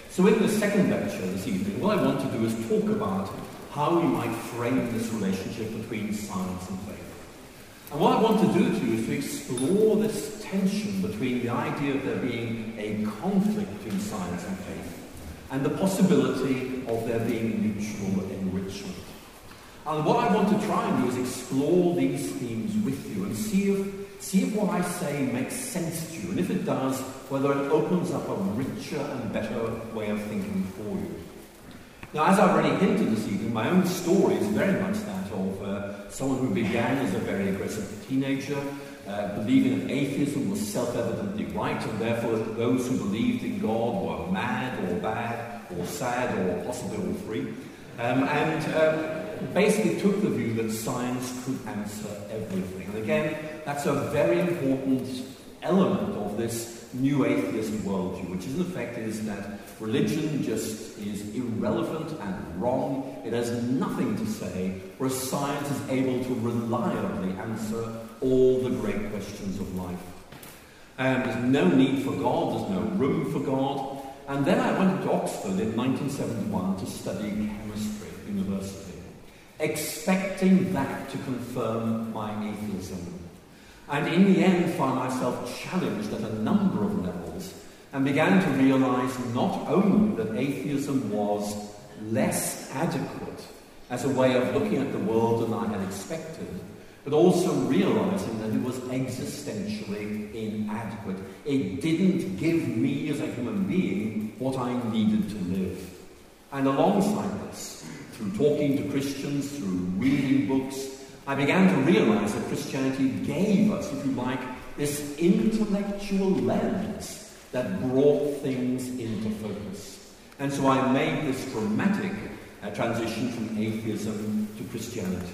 So in the second lecture this evening, what I want to do is talk about how we might frame this relationship between science and faith. And what I want to do to you is to explore this tension between the idea of there being a conflict between science and faith and the possibility of there being mutual enrichment. And what I want to try and do is explore these themes with you and see if what I say makes sense to you, and if it does, whether it opens up a richer and better way of thinking for you. Now, as I've already hinted this evening, my own story is very much that of someone who began as a very aggressive teenager, believing that atheism was self-evidently right, and therefore those who believed in God were mad or bad or sad or possibly all three, and basically took the view that science could answer everything. And again, that's a very important element of this new atheist worldview, which in effect is that religion just is irrelevant and wrong. It has nothing to say, whereas science is able to reliably answer all the great questions of life. There's no need for God, there's no room for God. And then I went to Oxford in 1971 to study chemistry at university, expecting that to confirm my atheism. And in the end found myself challenged at a number of levels and began to realize not only that atheism was less adequate as a way of looking at the world than I had expected, but also realizing that it was existentially inadequate. It didn't give me as a human being what I needed to live. And alongside this, through talking to Christians, through reading books, I began to realize that Christianity gave us, if you like, this intellectual lens that brought things into focus. And so I made this dramatic transition from atheism to Christianity.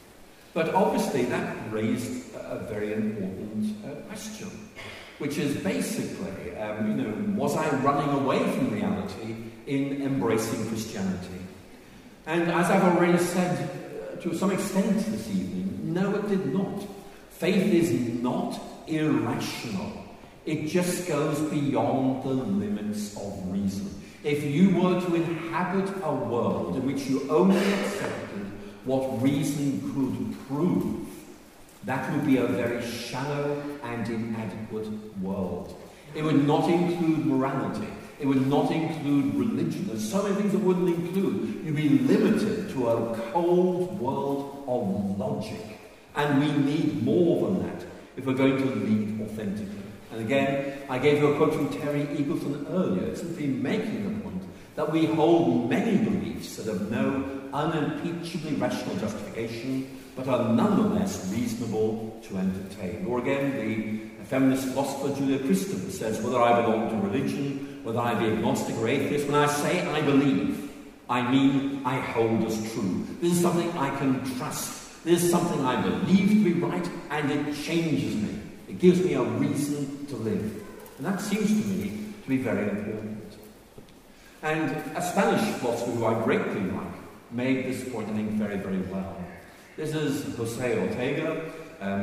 But obviously that raised a very important question, which is basically, was I running away from reality in embracing Christianity? And as I've already said, to some extent this evening, no, it did not. Faith is not irrational. It just goes beyond the limits of reason. If you were to inhabit a world in which you only accepted what reason could prove, that would be a very shallow and inadequate world. It would not include morality. It would not include religion. There's so many things it wouldn't include. You'd be limited to a cold world of logic. And we need more than that if we're going to lead authentically. And again, I gave you a quote from Terry Eagleton earlier, simply making the point that we hold many beliefs that have no unimpeachably rational justification, but are nonetheless reasonable to entertain. Or again, the feminist philosopher Julia Kristen says, whether I belong to religion, whether I be agnostic or atheist, when I say I believe, I mean I hold as true. This is something I can trust. This is something I believe to be right, and it changes me. It gives me a reason to live. And that seems to me to be very important. And a Spanish philosopher who I greatly like made this point, I think, very, very well. This is José Ortega,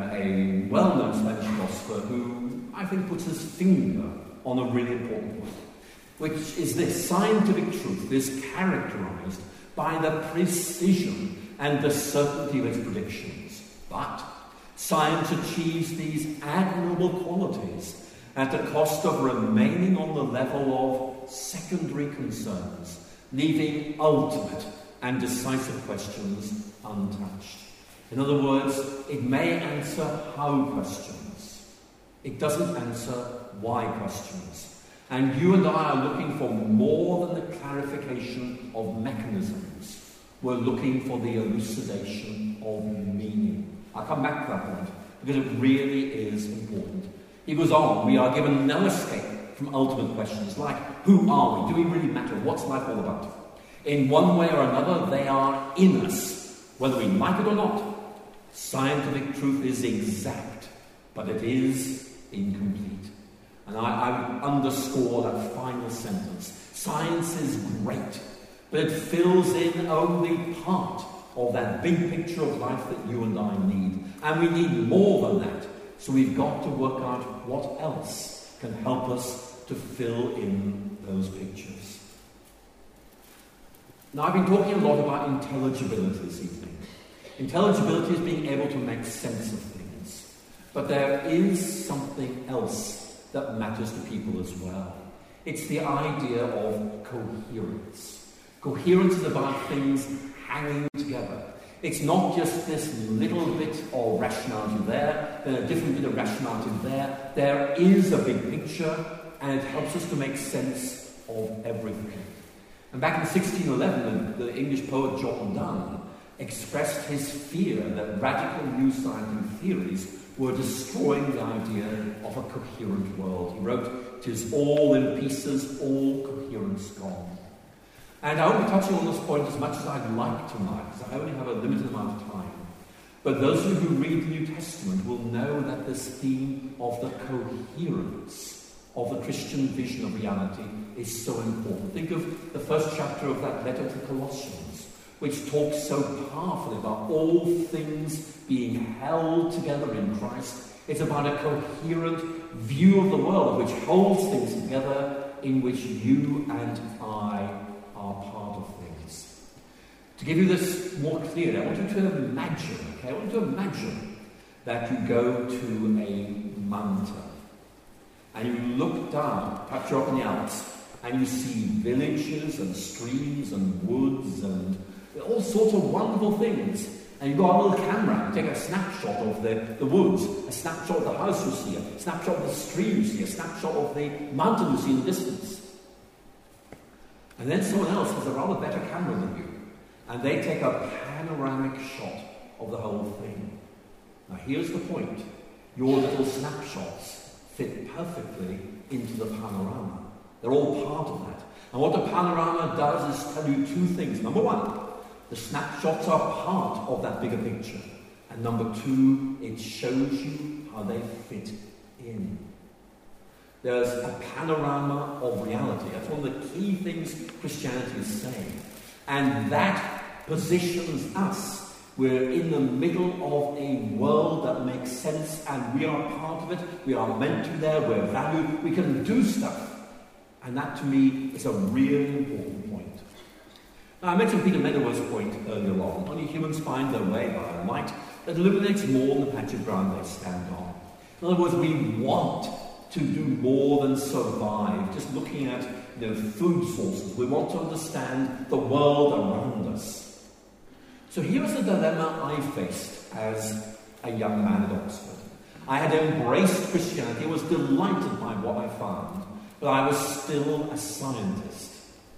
a well-known Spanish philosopher who I think puts his finger on a really important point, which is this: scientific truth is characterized by the precision and the certainty of its predictions. But science achieves these admirable qualities at the cost of remaining on the level of secondary concerns, leaving ultimate and decisive questions untouched. In other words, it may answer how questions. It doesn't answer why questions. And you and I are looking for more than the clarification of mechanisms. We're looking for the elucidation of meaning. I'll come back to that point, because it really is important. He goes on, we are given no escape from ultimate questions like, who are we? Do we really matter? What's life all about? In one way or another, they are in us, whether we like it or not. Scientific truth is exact, but it is incomplete. And I underscore that final sentence. Science is great, but it fills in only part of that big picture of life that you and I need. And we need more than that. So we've got to work out what else can help us to fill in those pictures. Now, I've been talking a lot about intelligibility this evening. Intelligibility is being able to make sense of things. But there is something else that matters to people as well. It's the idea of coherence. Coherence is about things hanging together. It's not just this little bit of rationality there, then a different bit of rationality there. There is a big picture, and it helps us to make sense of everything. And back in 1611, the English poet John Donne expressed his fear that radical new scientific theories were destroying the idea of a coherent world. He wrote, "'Tis all in pieces, all coherence gone." And I won't be touching on this point as much as I'd like tonight, because I only have a limited amount of time. But those of you who read the New Testament will know that this theme of the coherence of the Christian vision of reality is so important. Think of the first chapter of that letter to Colossians, which talks so powerfully about all things being held together in Christ. It's about a coherent view of the world which holds things together, in which you and I are part of things. To give you this more clearly, I want you to imagine, I want you to imagine that you go to a mountain and you look down, perhaps you're up in the Alps, and you see villages and streams and woods and all sorts of wonderful things. And you've got a little camera, you take a snapshot of the woods, a snapshot of the house you see, a snapshot of the stream you see, a snapshot of the mountain you see in the distance. And then someone else has a rather better camera than you, and they take a panoramic shot of the whole thing. Now here's the point. Your little snapshots fit perfectly into the panorama. They're all part of that. And what the panorama does is tell you two things. Number one, the snapshots are part of that bigger picture. And number two, it shows you how they fit in. There's a panorama of reality. That's one of the key things Christianity is saying. And that positions us. We're in the middle of a world that makes sense, and we are part of it. We are meant to be there. We're valued. We can do stuff. And that, to me, is a really important point. Now, I mentioned Peter Medaway's point earlier on. Only humans find their way by a light that illuminates more than the patch of ground they stand on. In other words, we want to do more than survive, just looking at food sources. We want to understand the world around us. So here's the dilemma I faced as a young man at Oxford. I had embraced Christianity, I was delighted by what I found, but I was still a scientist.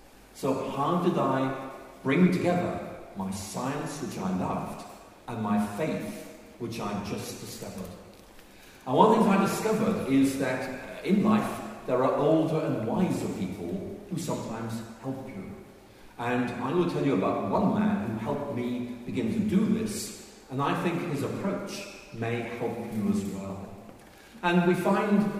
So how did I bring together my science, which I loved, and my faith, which I just discovered? And one of the things I discovered is that in life there are older and wiser people who sometimes help you. And I'm going to tell you about one man who helped me begin to do this, and I think his approach may help you as well. And we find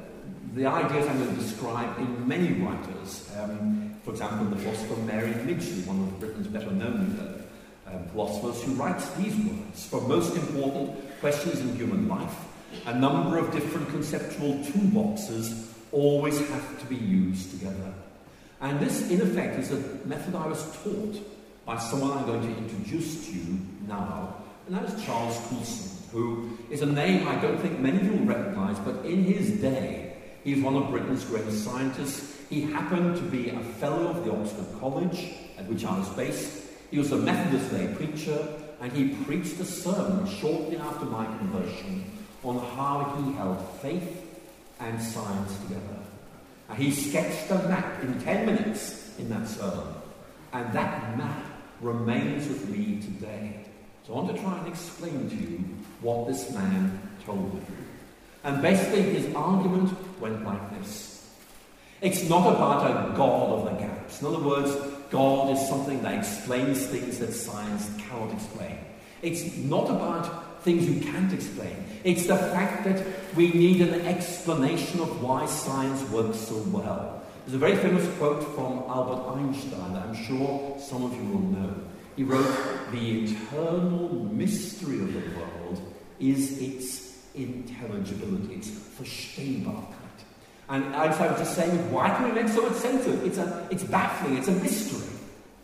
the ideas I'm going to describe in many writers. For example, the philosopher Mary Midgley, one of Britain's better-known philosophers, who writes these words: "For most important questions in human life, a number of different conceptual toolboxes always have to be used together." And this, in effect, is a method I was taught by someone I'm going to introduce to you now, and that is Charles Coulson, who is a name I don't think many of you will recognise, but in his day, he was one of Britain's greatest scientists. He happened to be a fellow of the Oxford College, at which I was based. He was a Methodist lay preacher, and he preached a sermon shortly after my conversion on how he held faith and science together. And he sketched a map in 10 minutes in that sermon, and that map remains with me today. So I want to try and explain to you what this man told me. And basically his argument went like this: it's not about a God of the gaps. In other words, God is something that explains things that science cannot explain. It's not about things you can't explain. It's the fact that we need an explanation of why science works so well. There's a very famous quote from Albert Einstein that I'm sure some of you will know. He wrote, "The eternal mystery of the world is its intelligibility, its Verstehbarkeit." And Einstein was just saying, why can we make so much sense of it? It's baffling, it's a mystery.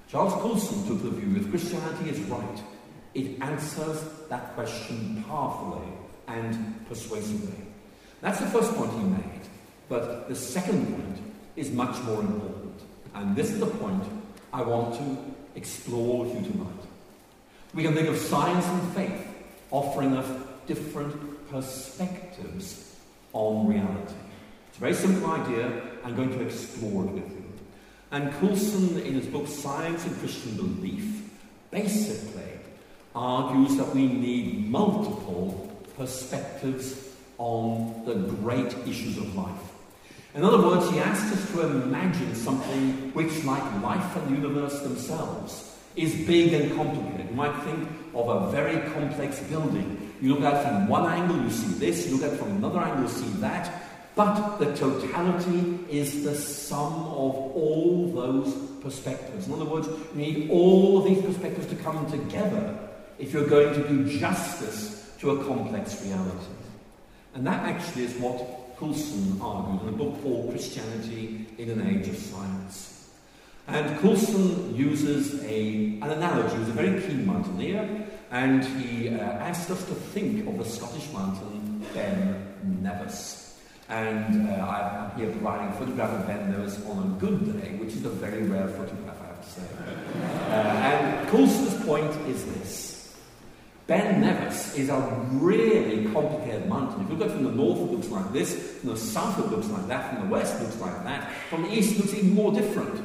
Charles Coulson took the view if Christianity is right, it answers that question powerfully and persuasively. That's the first point he made, but the second point is much more important. And this is the point I want to explore with you tonight. We can think of science and faith offering us different perspectives on reality. It's a very simple idea. I'm going to explore it with you. And Coulson, in his book Science and Christian Belief, basically argues that we need multiple perspectives on the great issues of life. In other words, he asks us to imagine something which, like life and the universe themselves, is big and complicated. You might think of a very complex building. You look at it from one angle, you see this. You look at it from another angle, you see that. But the totality is the sum of all those perspectives. In other words, you need all of these perspectives to come together if you're going to do justice to a complex reality. And that actually is what Coulson argued in a book called Christianity in an Age of Science. And Coulson uses an analogy. He's a very keen mountaineer, and he asked us to think of the Scottish mountain Ben Nevis. And I'm here providing a photograph of Ben Nevis on a good day, which is a very rare photograph, I have to say. And Coulson's point is this. Ben Nevis is a really complicated mountain. If you look at it from the north, it looks like this. From the south, it looks like that. From the west, it looks like that. From the east, it looks even more different.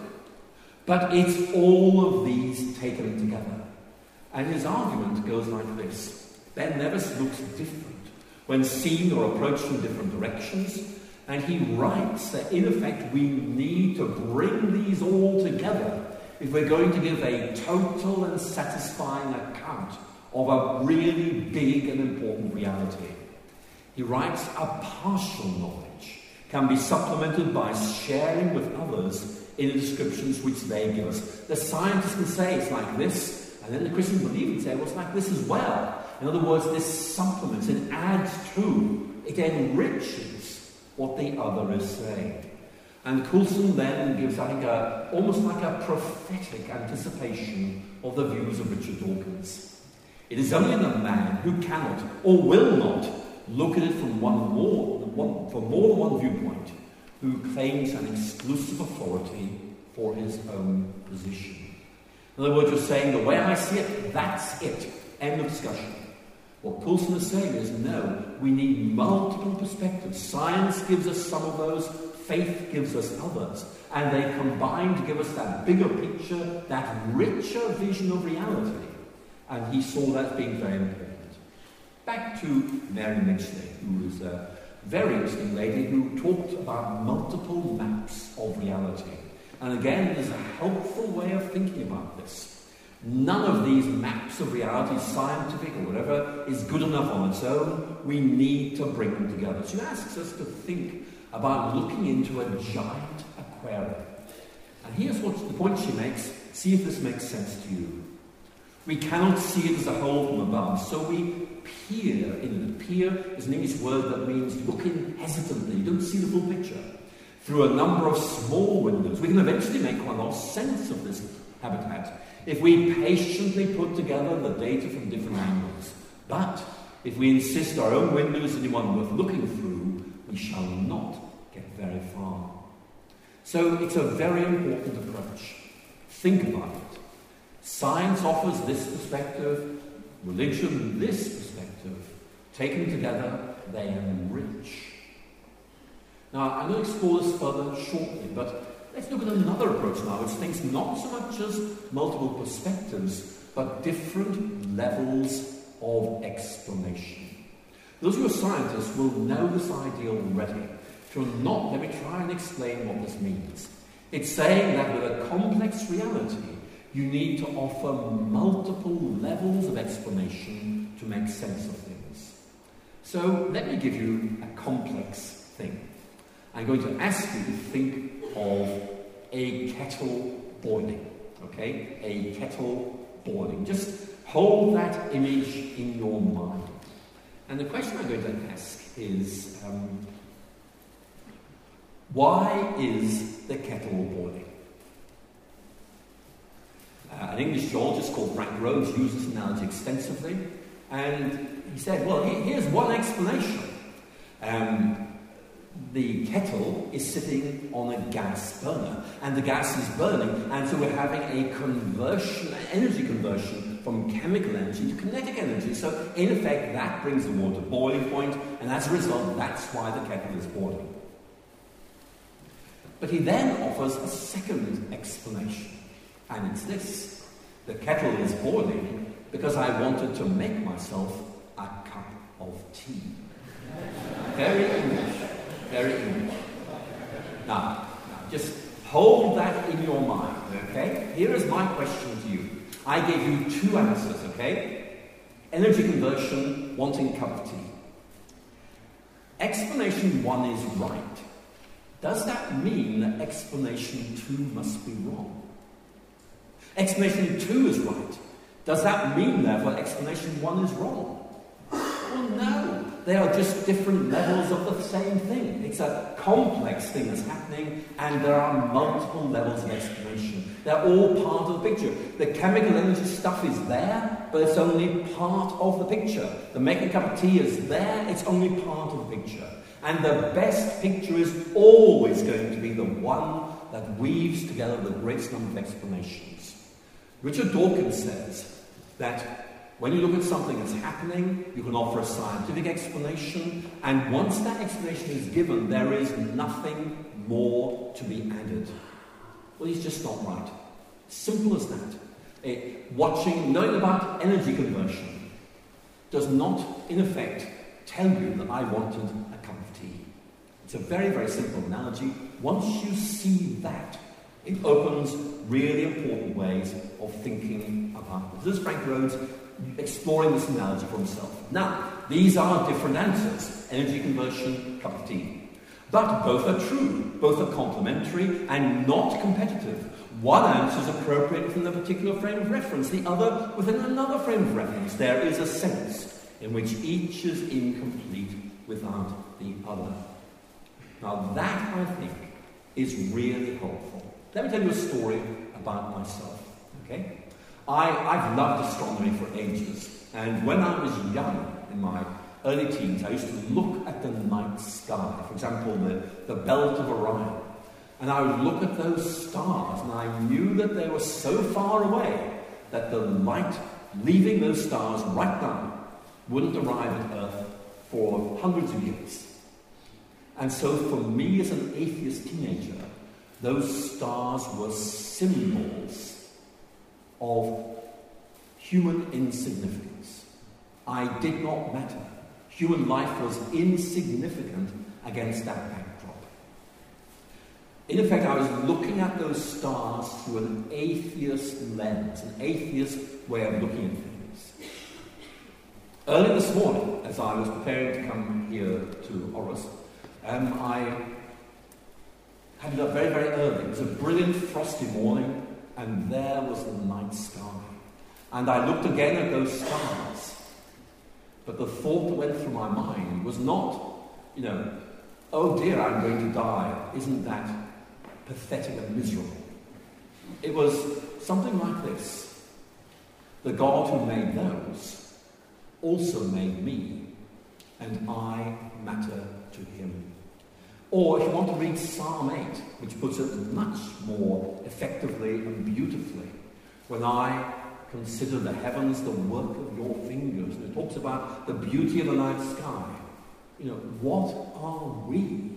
But it's all of these taken together. And his argument goes like this. Ben Nevis looks different when seen or approached from different directions. And he writes that, in effect, we need to bring these all together if we're going to give a total and satisfying account of a really big and important reality. He writes, a partial knowledge can be supplemented by sharing with others in the descriptions which they give us. The scientists can say it's like this, and then the Christian believer can say, well, it's like this as well. In other words, this supplements, it adds to, it enriches what the other is saying. And Coulson then gives, I think, almost like a prophetic anticipation of the views of Richard Dawkins. It is only the man who cannot or will not look at it from more than one viewpoint who claims an exclusive authority for his own position. In other words, you're saying, the way I see it, that's it. End of discussion. What Coulson is saying is, no, we need multiple perspectives. Science gives us some of those, faith gives us others, and they combine to give us that bigger picture, that richer vision of reality. And he saw that as being very important. Back to Mary Mitchley, who is a very interesting lady who talked about multiple maps of reality. And again, there's a helpful way of thinking about this. None of these maps of reality, scientific or whatever, is good enough on its own. We need to bring them together. She asks us to think about looking into a giant aquarium. And here's what the point she makes. See if this makes sense to you. We cannot see it as a whole from above, so we peer in it. Peer is an English word that means look in hesitantly, you don't see the full picture. Through a number of small windows, we can eventually make quite a lot of sense of this habitat if we patiently put together the data from different angles. But if we insist our own window is the one worth looking through, we shall not get very far. So it's a very important approach. Think about it. Science offers this perspective, religion this perspective. Taken together, they enrich. Now, I'm going to explore this further shortly, but let's look at another approach now, which thinks not so much as multiple perspectives, but different levels of explanation. Those who are scientists will know this idea already. If you're not, let me try and explain what this means. It's saying that with a complex reality, you need to offer multiple levels of explanation to make sense of things. So let me give you a complex thing. I'm going to ask you to think of a kettle boiling. Okay? A kettle boiling. Just hold that image in your mind. And the question I'm going to ask is, why is the kettle boiling? An English geologist called Frank Rhodes used this analogy extensively, and he said, well, here's one explanation. The kettle is sitting on a gas burner, and the gas is burning, and so we're having a conversion, energy conversion from chemical energy to kinetic energy. So, in effect, that brings the water to boiling point, and as a result, that's why the kettle is boiling. But he then offers a second explanation, and it's this. The kettle is boiling because I wanted to make myself a cup of tea. Very English. Very English. Now, just hold that in your mind, okay? Here is my question to you. I gave you two answers, okay? Energy conversion, wanting a cup of tea. Explanation one is right. Does that mean that explanation two must be wrong? Explanation two is right. Does that mean, therefore, explanation one is wrong? Well, no. They are just different levels of the same thing. It's a complex thing that's happening, and there are multiple levels of explanation. They're all part of the picture. The chemical energy stuff is there, but it's only part of the picture. The making a cup of tea is there, it's only part of the picture. And the best picture is always going to be the one that weaves together the greatest number of explanations. Richard Dawkins says that when you look at something that's happening, you can offer a scientific explanation, and once that explanation is given, there is nothing more to be added. Well, he's just not right. Simple as that. Knowing about energy conversion does not, in effect, tell you that I wanted a cup of tea. It's a very, very simple analogy. Once you see that, it opens really important ways of thinking about this. This is Frank Rhodes exploring this analogy for himself. Now, these are different answers. Energy conversion, cup of tea. But both are true. Both are complementary and not competitive. One answer is appropriate within a particular frame of reference, the other within another frame of reference. There is a sense in which each is incomplete without the other. Now, that, I think, is really helpful. Let me tell you a story about myself, okay? I've loved astronomy for ages, and when I was young, in my early teens, I used to look at the night sky, for example, the belt of Orion, and I would look at those stars, and I knew that they were so far away that the light leaving those stars right now wouldn't arrive at Earth for hundreds of years. And so for me as an atheist teenager, those stars were symbols of human insignificance. I did not matter. Human life was insignificant against that backdrop. In effect, I was looking at those stars through an atheist lens, an atheist way of looking at things. Early this morning, as I was preparing to come here to Oros, I had it up very, very early. It was a brilliant frosty morning, and there was the night sky. And I looked again at those stars. But the thought that went through my mind was not, oh dear, I'm going to die. Isn't that pathetic and miserable? It was something like this. The God who made those also made me, and I matter to him. Or if you want to read Psalm 8, which puts it much more effectively and beautifully, when I consider the heavens, the work of your fingers, and it talks about the beauty of the night sky. What are we?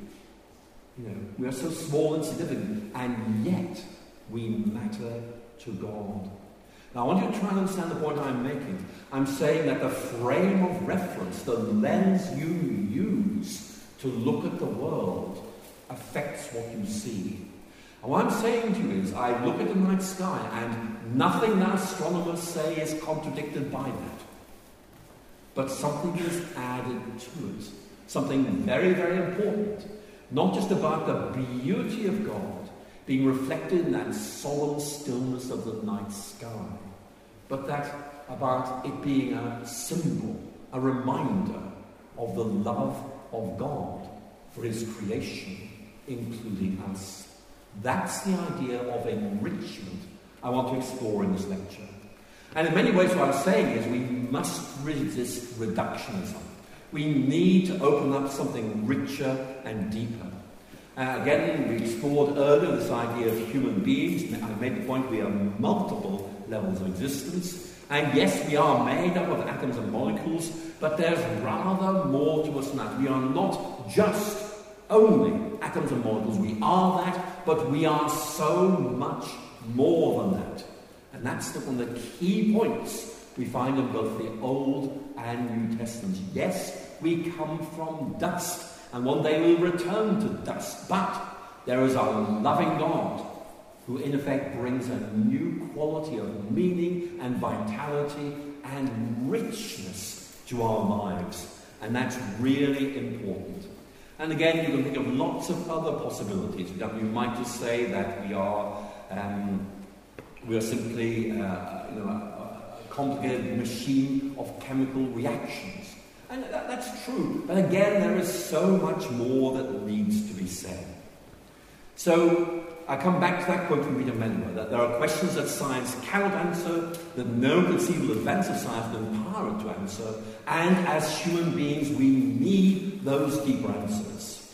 We are so small and insignificant, and yet we matter to God. Now, I want you to try and understand the point I'm making. I'm saying that the frame of reference, the lens you use to look at the world, affects what you see. And what I'm saying to you is, I look at the night sky, and nothing that astronomers say is contradicted by that. But something is added to it. Something very, very important. Not just about the beauty of God being reflected in that solemn stillness of the night sky, but that about it being a symbol, a reminder of the love of God for his creation, including us. That's the idea of enrichment I want to explore in this lecture. And in many ways what I'm saying is we must resist reductionism. We need to open up something richer and deeper. Again, we explored earlier this idea of human beings. I made the point we have multiple levels of existence. And yes, we are made up of atoms and molecules, but there's rather more to us than that. We are not just only atoms and molecules. We are that, but we are so much more than that. And that's one of the key points we find in both the Old and New Testaments. Yes, we come from dust, and one day we'll return to dust. But there is a loving God who in effect brings a new quality of meaning and vitality and richness to our lives. And that's really important. And again, you can think of lots of other possibilities. You might just say that we are simply a complicated machine of chemical reactions. And that's true. But again, there is so much more that needs to be said. So I come back to that quote from Peter Menwer, that there are questions that science cannot answer, that no conceivable advance of science can empower it to answer, and as human beings we need those deeper answers.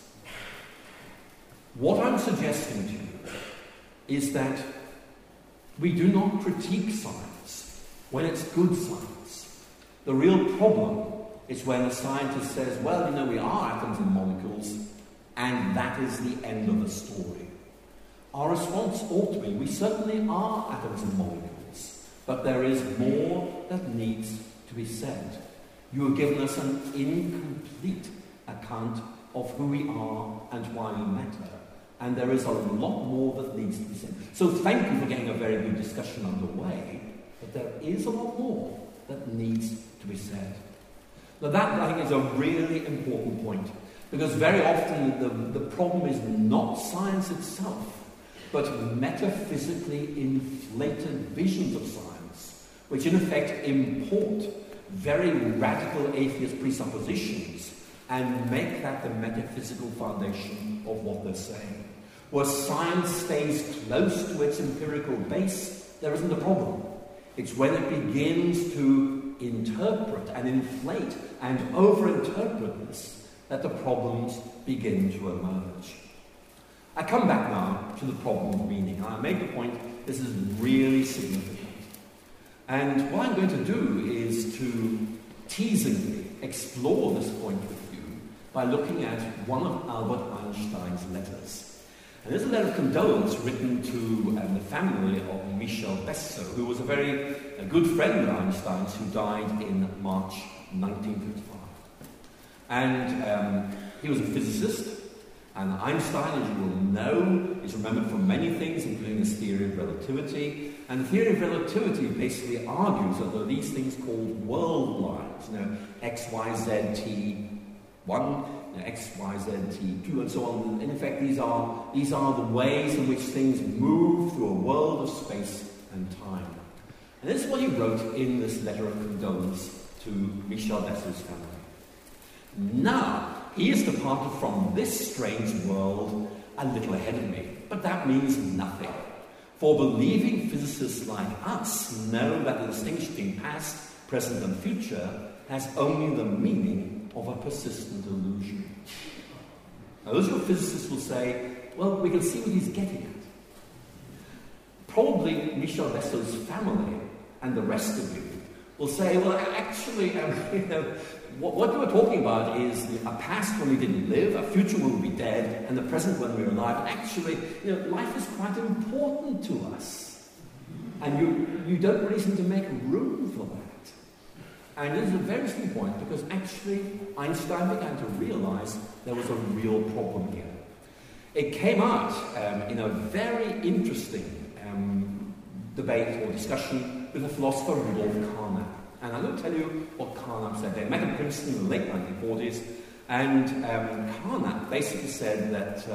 What I'm suggesting to you is that we do not critique science when it's good science. The real problem is when a scientist says, well, we are atoms and molecules, and that is the end of the story. Our response ought to be, we certainly are atoms and molecules, but there is more that needs to be said. You have given us an incomplete account of who we are and why we matter. And there is a lot more that needs to be said. So thank you for getting a very good discussion underway, but there is a lot more that needs to be said. Now that, I think, is a really important point, because very often the problem is not science itself, but metaphysically inflated visions of science, which in effect import very radical atheist presuppositions and make that the metaphysical foundation of what they're saying. Where science stays close to its empirical base, there isn't a problem. It's when it begins to interpret and inflate and overinterpret this that the problems begin to emerge. I come back now to the problem of meaning, and I make the point this is really significant. And what I'm going to do is to teasingly explore this point with you by looking at one of Albert Einstein's letters. And there's a letter of condolence written to the family of Michel Besso, who was a good friend of Einstein's, who died in March 1955. And he was a physicist, and Einstein, as you will know, is remembered for many things, including his theory of relativity. And the theory of relativity basically argues that there are these things called world lines, X, Y, Z, T, 1, X, Y, Z, T, 2, and so on. In effect, these are the ways in which things move through a world of space and time. And this is what he wrote in this letter of condolence to Michel Besso's family. Now, he is departed from this strange world a little ahead of me, but that means nothing. For believing physicists like us know that the distinction between past, present, and future has only the meaning of a persistent illusion. Now, those who are physicists will say, well, we can see what he's getting at. Probably Michel Besso's family and the rest of you will say, well, actually, what you were talking about is a past when we didn't live, a future when we'll be dead, and the present when we're alive. Actually, life is quite important to us. And you don't really seem to make room for that. And this is a very simple point, because actually Einstein began to realize there was a real problem here. It came out in a very interesting debate or discussion with the philosopher Rudolf Carnap. And I'm going to tell you what Carnap said. They met in Princeton in the late 1940s, and Carnap basically said that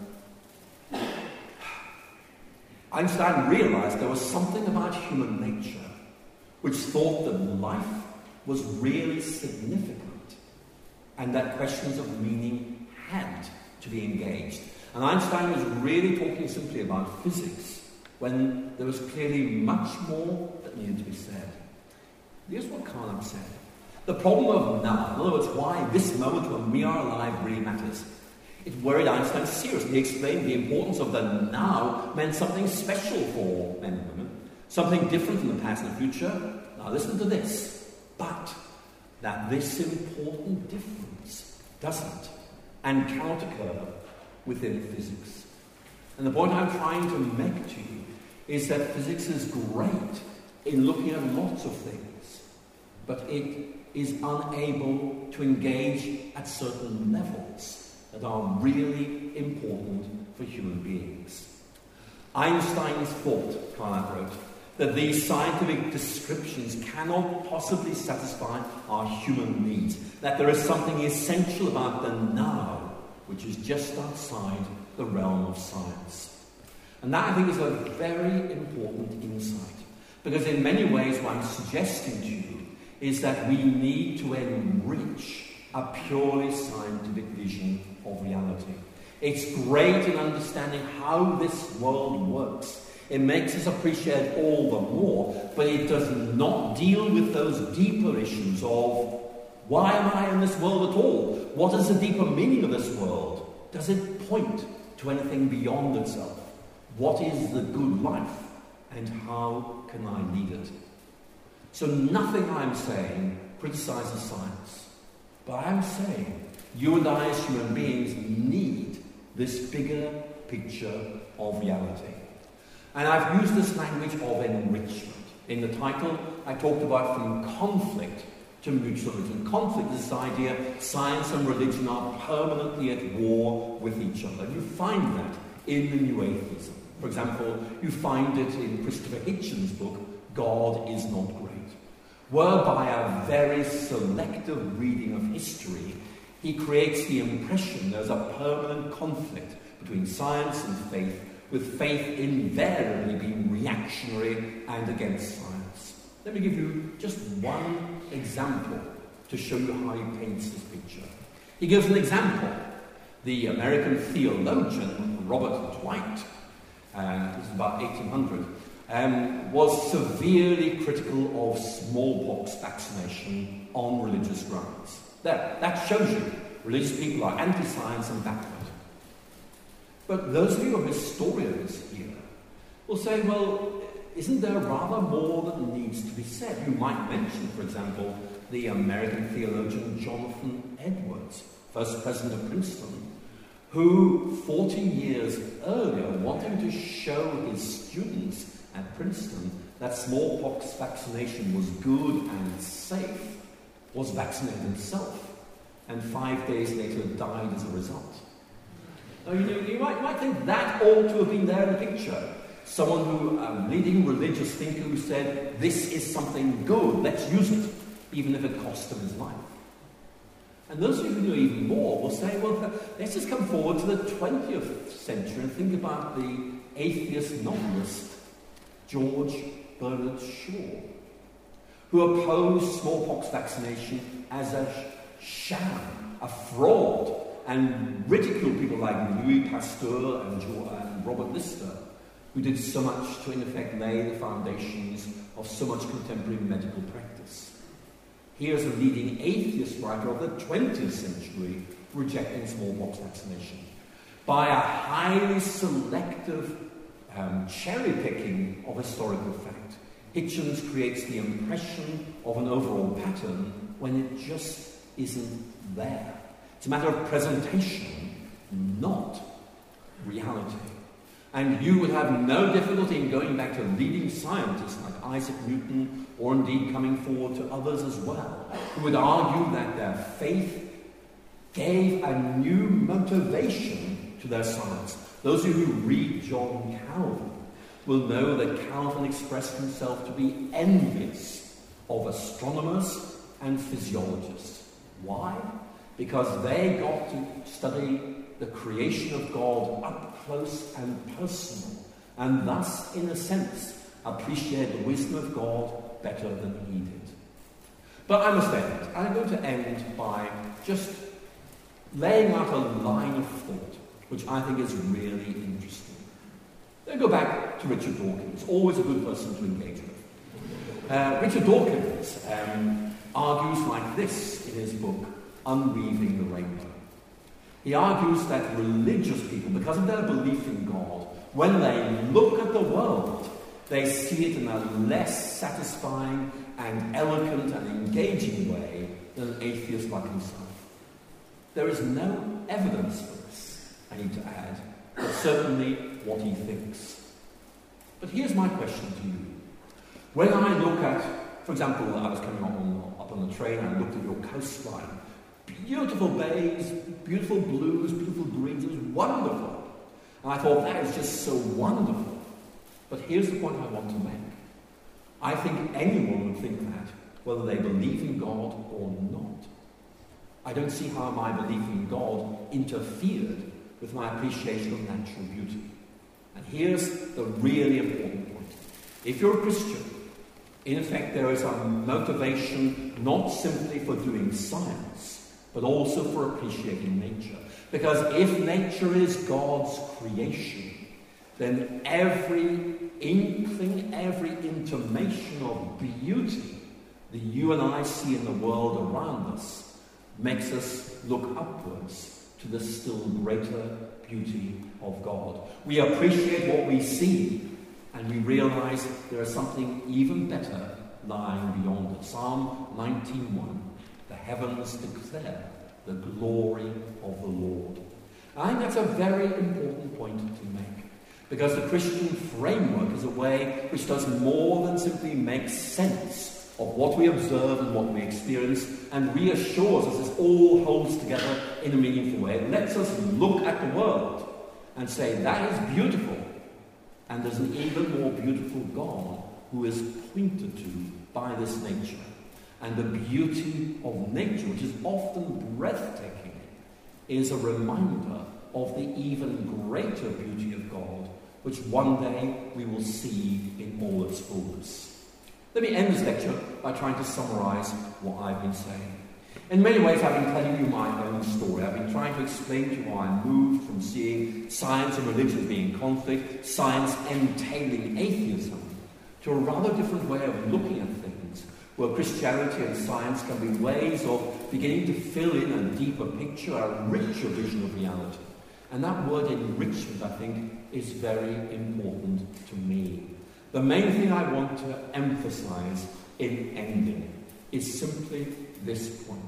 Einstein realized there was something about human nature which thought that life was really significant, and that questions of meaning had to be engaged. And Einstein was really talking simply about physics, when there was clearly much more that needed to be said. Here's what Carnap said. The problem of now, in other words, why this moment when we are alive really matters. It worried Einstein seriously. He explained the importance of the now meant something special for men and women, something different from the past and the future. Now listen to this. But that this important difference doesn't and cannot occur within physics. And the point I'm trying to make to you is that physics is great in looking at lots of things, but it is unable to engage at certain levels that are really important for human beings. Einstein's thought, Carnap wrote, that these scientific descriptions cannot possibly satisfy our human needs, that there is something essential about the now, which is just outside the realm of science. And that, I think, is a very important insight, because in many ways what I'm suggesting to you is that we need to enrich a purely scientific vision of reality. It's great in understanding how this world works. It makes us appreciate all the more, but it does not deal with those deeper issues of why am I in this world at all? What is the deeper meaning of this world? Does it point to anything beyond itself? What is the good life? And how can I lead it? So nothing I'm saying criticizes science, but I'm saying you and I as human beings need this bigger picture of reality. And I've used this language of enrichment. In the title, I talked about from conflict to mutualism. Conflict is this idea science and religion are permanently at war with each other. You find that in the New Atheism. For example, you find it in Christopher Hitchens' book, God is Not Great, whereby a very selective reading of history, he creates the impression there's a permanent conflict between science and faith, with faith invariably being reactionary and against science. Let me give you just one example to show you how he paints this picture. He gives an example. The American theologian Robert Dwight, this is about 1800, was severely critical of smallpox vaccination on religious grounds. That shows you religious people are anti-science and backward. But those of you who are historians here will say, well, isn't there rather more that needs to be said? You might mention, for example, the American theologian Jonathan Edwards, first president of Princeton, who 40 years earlier, wanting to show his students at Princeton that smallpox vaccination was good and safe, was vaccinated himself, and 5 days later died as a result. Now, you might think that ought to have been there in the picture. Someone who, a leading religious thinker who said, this is something good, let's use it, even if it cost him his life. And those of you who know even more will say, well, let's just come forward to the 20th century and think about the atheist novelist George Bernard Shaw, who opposed smallpox vaccination as a sham, a fraud, and ridiculed people like Louis Pasteur and Robert Lister, who did so much to, in effect, lay the foundations of so much contemporary medical practice. Here's a leading atheist writer of the 20th century rejecting smallpox vaccination. By a highly selective cherry-picking of historical fact, Hitchens creates the impression of an overall pattern when it just isn't there. It's a matter of presentation, not reality. And you would have no difficulty in going back to leading scientists like Isaac Newton, or indeed coming forward to others as well, who would argue that their faith gave a new motivation to their science. Those of you who read John Calvin will know that Calvin expressed himself to be envious of astronomers and physiologists. Why? Because they got to study the creation of God up close and personal, and thus, in a sense, appreciate the wisdom of God better than he did. But I must end. I'm going to end by just laying out a line of thought, which I think is really interesting. Let's go back to to Richard Dawkins, always a good person to engage with. Richard Dawkins argues like this in his book, Unweaving the Rainbow. He argues that religious people, because of their belief in God, when they look at the world, they see it in a less satisfying and eloquent and engaging way than an atheist like himself. There is no evidence for this, I need to add, but certainly what he thinks. But here's my question to you. When I look at, for example, I was coming up on the train, I looked at your coastline. Beautiful bays, beautiful blues, beautiful greens, it was wonderful. And I thought, that is just so wonderful. But here's the point I want to make. I think anyone would think that, whether they believe in God or not. I don't see how my belief in God interfered with my appreciation of natural beauty. And here's the really important point. If you're a Christian, in effect there is a motivation not simply for doing science, but also for appreciating nature. Because if nature is God's creation, then every inkling, every intimation of beauty that you and I see in the world around us makes us look upwards to the still greater beauty of God. We appreciate what we see, and we realize there is something even better lying beyond it. Psalm 19:1, the heavens declare the glory of the Lord. I think that's a very important point to make, because the Christian framework is a way which does more than simply make sense of what we observe and what we experience, and reassures us this all holds together in a meaningful way. It lets us look at the world and say, that is beautiful, and there's an even more beautiful God who is pointed to by this nature. And the beauty of nature, which is often breathtaking, is a reminder of the even greater beauty of God, which one day we will see in all its fullness. Let me end this lecture by trying to summarize what I've been saying. In many ways, I've been telling you my own story. I've been trying to explain to you how I moved from seeing science and religion being in conflict, science entailing atheism, to a rather different way of looking at things, where Christianity and science can be ways of beginning to fill in a deeper picture, a richer vision of reality. And that word enrichment, I think, is very important to me. The main thing I want to emphasize in ending is simply this point.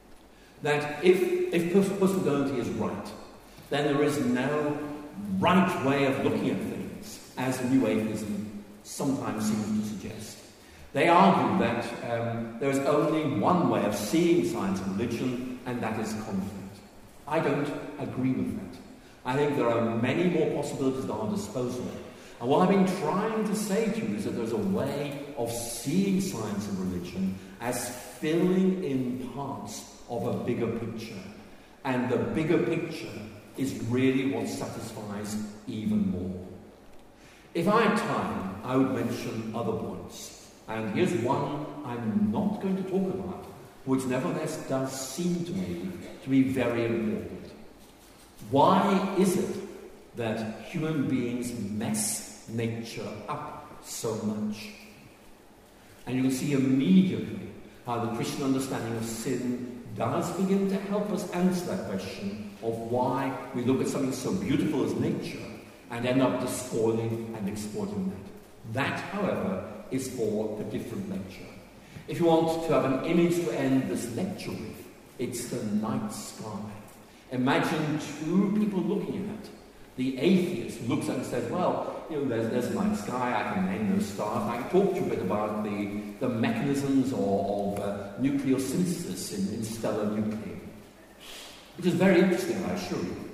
That if postmodernity is right, then there is no right way of looking at things, as New Atheism sometimes seems to suggest. They argue that there is only one way of seeing science and religion, and that is conflict. I don't agree with that. I think there are many more possibilities at our disposal. And what I've been trying to say to you is that there's a way of seeing science and religion as filling in parts of a bigger picture. And the bigger picture is really what satisfies even more. If I had time, I would mention other points. And here's one I'm not going to talk about, which nevertheless does seem to me to be very important. Why is it that human beings mess nature up so much? And you can see immediately how the Christian understanding of sin does begin to help us answer that question of why we look at something so beautiful as nature and end up despoiling and exploiting that. That, however, is for a different lecture. If you want to have an image to end this lecture with, it's the night sky. Imagine two people looking at it. The atheist looks at it and says, well, there's a night sky, I can name those stars, I can talk to you a bit about the mechanisms of nucleosynthesis in stellar nuclei. Which is very interesting, I assure you.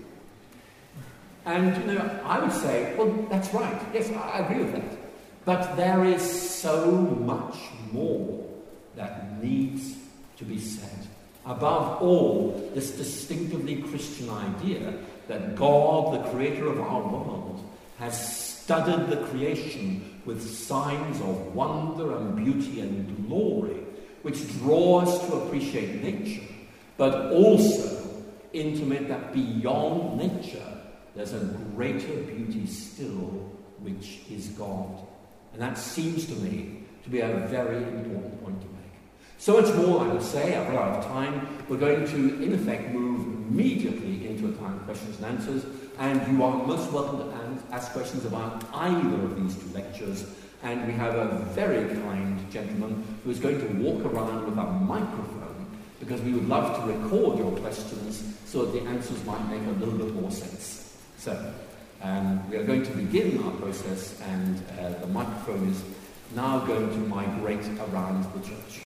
And, I would say, well, that's right, yes, I agree with that. But there is so much more that needs to be said. Above all, this distinctively Christian idea that God, the creator of our world, has studded the creation with signs of wonder and beauty and glory, which draw us to appreciate nature, but also intimate that beyond nature, there's a greater beauty still which is God. And that seems to me to be a very important point to make. So much more, I would say. I've run out of time. We're going to, in effect, move immediately into a time of questions and answers, and you are most welcome to ask questions about either of these two lectures. And we have a very kind gentleman who is going to walk around with a microphone, because we would love to record your questions so that the answers might make a little bit more sense. So, we are going to begin our process, and the microphone is now going to migrate around the church.